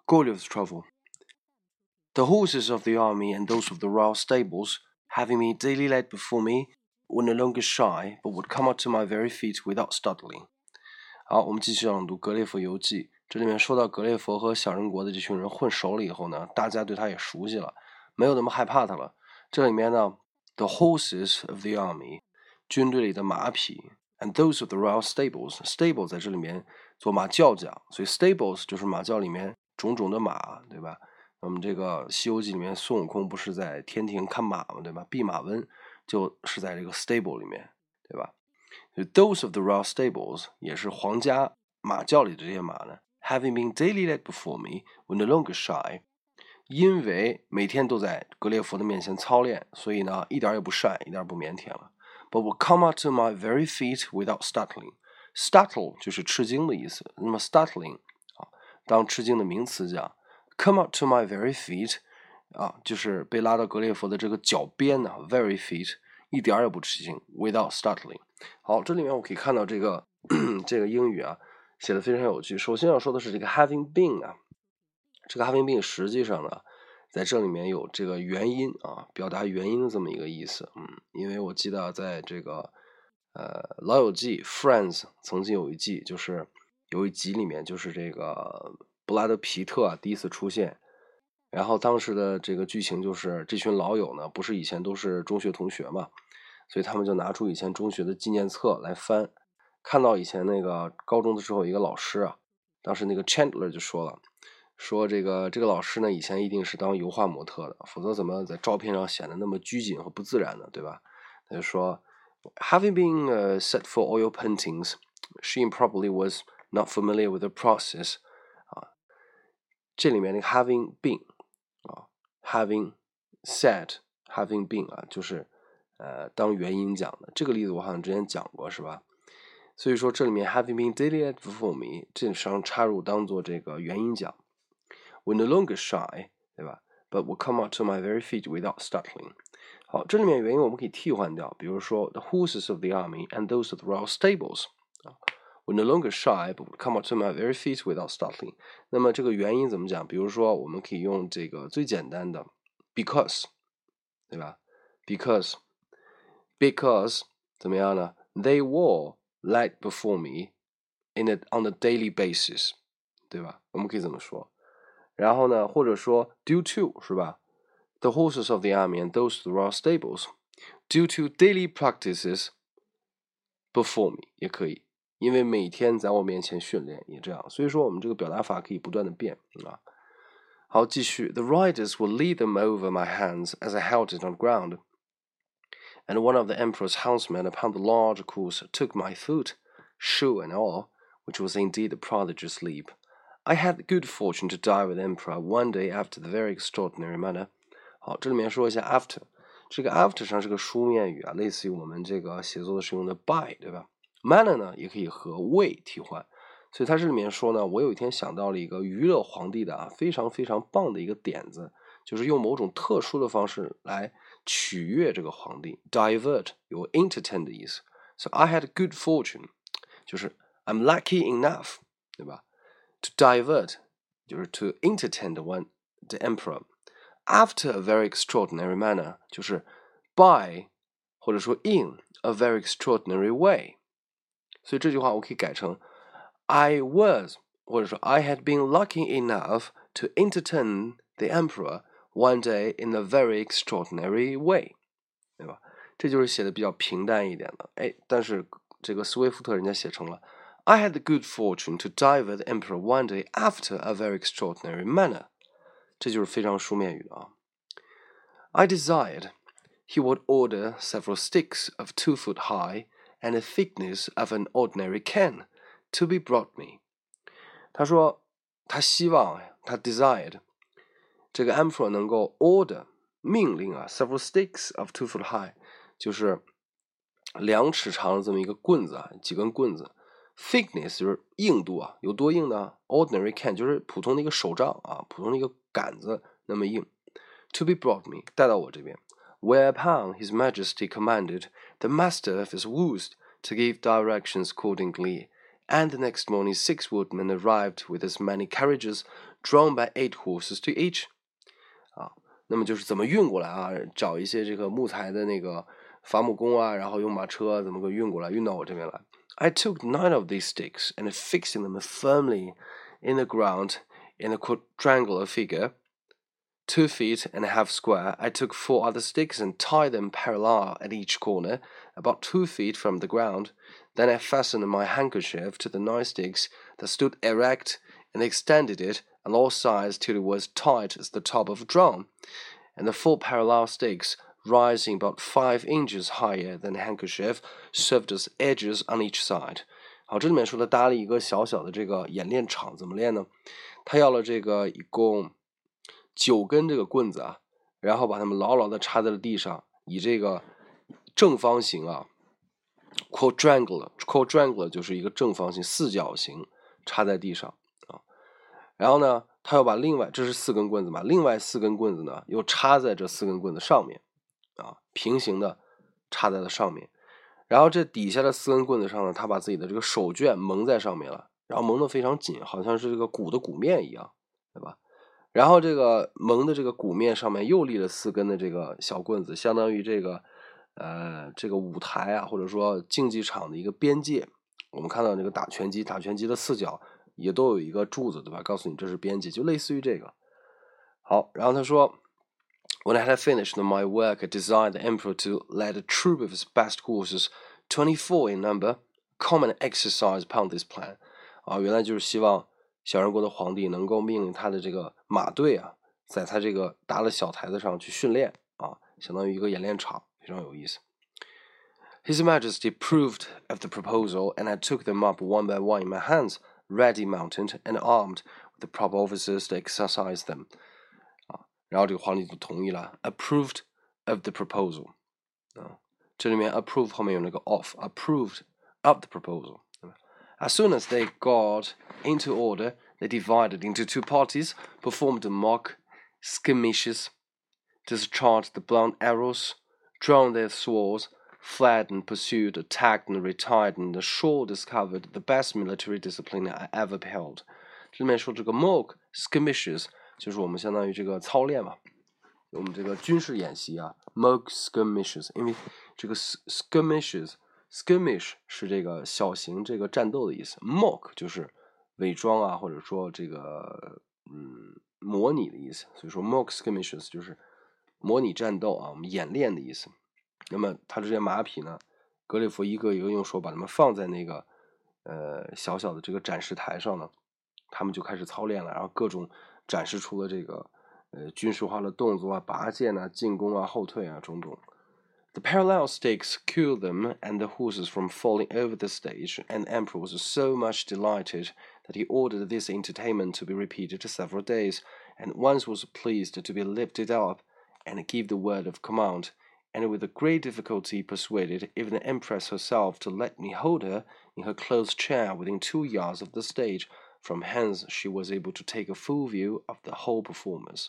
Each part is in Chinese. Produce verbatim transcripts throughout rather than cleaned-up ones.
Goliath's travel. The horses of the army and those of the royal stables, having me daily led before me, were no longer shy, but would come up to my very feet without startling. 好，我们继续朗读《格列佛游记》。这里面说到格列佛和小人国的这群人混熟了以后呢，大家对他也熟悉了，没有那么害怕他了。这里面呢 ，the horses of the army， 军队里的马匹 ，and those of the royal stables，stable 在这里面做马厩讲，所以 stables 就是马厩里面种种的马，对吧？我们这个《西游记》里面孙悟空不是在天庭看马嘛，对吧？弼马温就是在这个 stable 里面，对吧？ Those of the royal stables 也是皇家马厩里的这些马呢 ，having been daily led before me, were no longer shy， 因为每天都在格列佛的面前操练，所以呢，一点也不晒，一点不腼腆了。But would come up to my very feet without startling. Startle 就是吃惊的意思，那么 startling 啊，当吃惊的名词讲 ，come up to my very feet 啊，就是被拉到格列佛的这个脚边呢 ，very feet 一点也不吃惊 ，without startling。好，这里面我可以看到这个这个英语啊写的非常有趣。首先要说的是这个 having been 啊，这个 having been 实际上呢，在这里面有这个原因啊，表达原因的这么一个意思。嗯，因为我记得在这个呃老友记 Friends 曾经有一季，就是有一集里面就是这个布拉德皮特啊第一次出现。然后当时的这个剧情就是这群老友呢，不是以前都是中学同学嘛，所以他们就拿出以前中学的纪念册来翻，看到以前那个高中的时候，一个老师啊，当时那个 Chandler 就说了，说这个这个老师呢，以前一定是当油画模特的，否则怎么在照片上显得那么拘谨和不自然呢？对吧？他就说 ，Having been、uh, set for oil paintings, she probably was not familiar with the process 啊，这里面那个 having been 啊 ，having said having been 啊，就是呃当原因讲的。这个例子我好像之前讲过，是吧？所以说这里面 having been daily led before me 这上插入当做这个原因讲。We're no longer shy， 对吧？ But will come up to my very feet without startling。好，这里面原因我们可以替换掉，比如说 the horses of the army and those of the royal stables。We're no longer shy, but would come up to my very feet without startling。那么这个原因怎么讲？比如说，我们可以用这个最简单的 because， 对吧 ？Because because 怎么样呢 ？They were led before me in a on a daily basis， 对吧？我们可以这么说。然后呢，或者说 due to 是吧 ？The horses of the army and those of the royal stables due to daily practices before me 也可以。因为每天在我面前训练也这样，所以说我们这个表达法可以不断的变啊。好，继续 The riders will lead them over my hands as I held it on ground. And one of the emperor's huntsmen upon the large course took my foot, shoe and all, which was indeed a prodigious leap. I had the good fortune to die with the emperor one day after the very extraordinary manner. 好，这里面说一下 after， 这个 after 上是个书面语啊，类似于我们这个写作的时候用的 by， 对吧？Manner 呢也可以和 way 替换，所以它这里面说呢，我有一天想到了一个娱乐皇帝的啊非常非常棒的一个点子，就是用某种特殊的方式来取悦这个皇帝 ，divert 有 entertain 的意思。So I had good fortune， 就是 I'm lucky enough， 对吧 ？To divert 就是 to entertain the one the emperor after a very extraordinary manner， 就是 by 或者说 in a very extraordinary way。所以这句话我可以改成 I was 或者说 I had been lucky enough to entertain the emperor one day in a very extraordinary way， 对吧？这就是写的比较平淡一点的，哎，但是这个斯威夫特人家写成了 I had the good fortune to divert the emperor one day after a very extraordinary manner， 这就是非常书面语的啊。I desired he would order several sticks of two foot high and the thickness of an ordinary can to be brought me。 他说他希望他 desired 这个 emperor 能够 order 命令啊 several sticks of two foot high 就是两尺长的这么一个棍子啊，几根棍子 thickness 就是硬度啊，有多硬呢 ordinary can 就是普通的一个手杖啊，普通的一个杆子那么硬 to be brought me 带到我这边。Whereupon his majesty commanded the master of his woos to give directions accordingly, And the next morning six woodmen arrived with as many carriages, drawn by eight horses to each. 啊，那么就是怎么运过来啊？找一些这个木材的那个伐木工啊，然后用马车怎么个运过来，运到我这边来。I took nine of these sticks and fixing them firmly in the ground in a quadrangular figure, two feet and a half square. I took four other sticks and tied them parallel at each corner, about two feet from the ground. Then I fastened my handkerchief to the nine sticks that stood erect and extended it on all sides till it was tight as the top of a drum, and the four parallel sticks, rising about five inches higher than the handkerchief, served as edges on each side. 好，这里面说的搭了一个小小的这个演练场，怎么练呢？他要了这个一共九根这个棍子啊，然后把它们牢牢的插在了地上，以这个正方形啊 ，quadrangular quadrangular 就是一个正方形四角形插在地上啊。然后呢，他又把另外这是四根棍子嘛，另外四根棍子呢又插在这四根棍子上面啊，平行的插在了上面。然后这底下的四根棍子上呢，他把自己的这个手绢蒙在上面了，然后蒙得非常紧，好像是这个鼓的鼓面一样，对吧？然后这个蒙的这个鼓面上面又立了四根的这个小棍子，相当于这个呃这个舞台啊，或者说竞技场的一个边界。我们看到这个打拳击，打拳击的四角也都有一个柱子，对吧？告诉你这是边界，就类似于这个。好，然后他说 When I had finished my work, I desired the emperor to let a troop of his best horses, twenty-four in number, come and exercise upon this plan. 啊，原来就是希望小人国的皇帝能够命令他的这个马队啊，在他这个搭了小台子上去训练啊，相当于一个演练场，非常有意思。His Majesty approved of the proposal, and I took them up one by one in my hands, ready mounted and armed with the proper officers to exercise them. 啊，然后这个皇帝就同意了 ，approved of the proposal. 啊，这里面 approve 后面有那个 of, approved of the proposal. As soon as they got into order, they divided into two parties, performed mock skirmishes, discharged the blunt arrows, drawn their swords, fled and pursued, attacked and retired, and sure discovered the best military discipline I ever beheld. 这里面说这个 mock skirmishes 就是我们相当于这个操练嘛，我们这个军事演习啊 mock skirmishes， 因为这个 skirmishes。skirmish 是这个小型这个战斗的意思 ，mock 就是伪装啊，或者说这个嗯模拟的意思，所以说 mock skirmishes 就是模拟战斗啊，我们演练的意思。那么他这些马匹呢，格里夫一个一个用手把它们放在那个呃小小的这个展示台上呢，他们就开始操练了，然后各种展示出了这个呃军事化的动作啊，拔剑啊，进攻啊，后退啊，种种。The parallel stakes secured them and the horses from falling over the stage, and the emperor was so much delighted that he ordered this entertainment to be repeated several days, and once was pleased to be lifted up and give the word of command, and with great difficulty persuaded even the empress herself to let me hold her in her close chair within two yards of the stage, from hence she was able to take a full view of the whole performance.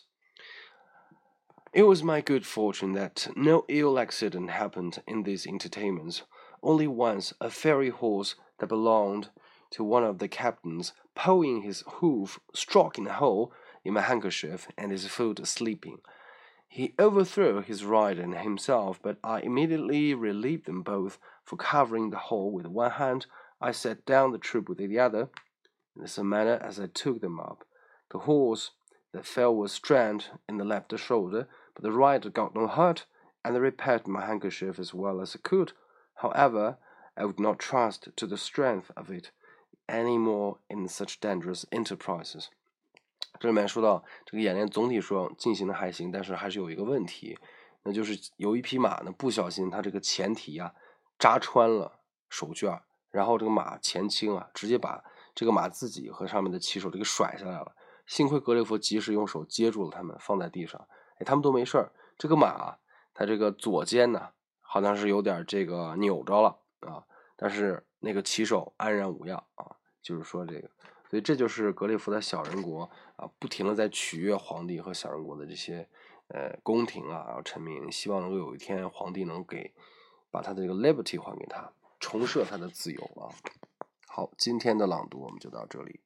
It was my good fortune that no ill accident happened in these entertainments. Only once a fairy horse that belonged to one of the captains, pulling his hoof, struck in a hole in my handkerchief, and his foot sleeping. He overthrew his rider and himself, but I immediately relieved them both, for covering the hole with one hand, I set down the troop with the other. In the same manner as I took them up, the horse that fell was strained in the left shoulder, but the rider got no hurt, and I repaired my handkerchief as well as I could. However, I would not trust to the strength of it any more in such dangerous enterprises. 这里面说到这个演练总体说进行的还行，但是还是有一个问题，那就是有一匹马呢不小心它这个前蹄啊扎穿了手绢，然后这个马前倾啊，直接把这个马自己和上面的骑手这个甩下来了。幸亏格雷夫及时用手接住了他们，放在地上，哎，他们都没事儿。这个马啊，它这个左肩呢，好像是有点这个扭着了啊，但是那个骑手安然无恙啊，就是说这个，所以这就是格雷夫的小人国啊，不停的在取悦皇帝和小人国的这些呃宫廷啊，然后臣民，希望能够有一天皇帝能给把他的这个 liberty 还给他，重设他的自由啊。 好，今天的朗读我们就到这里。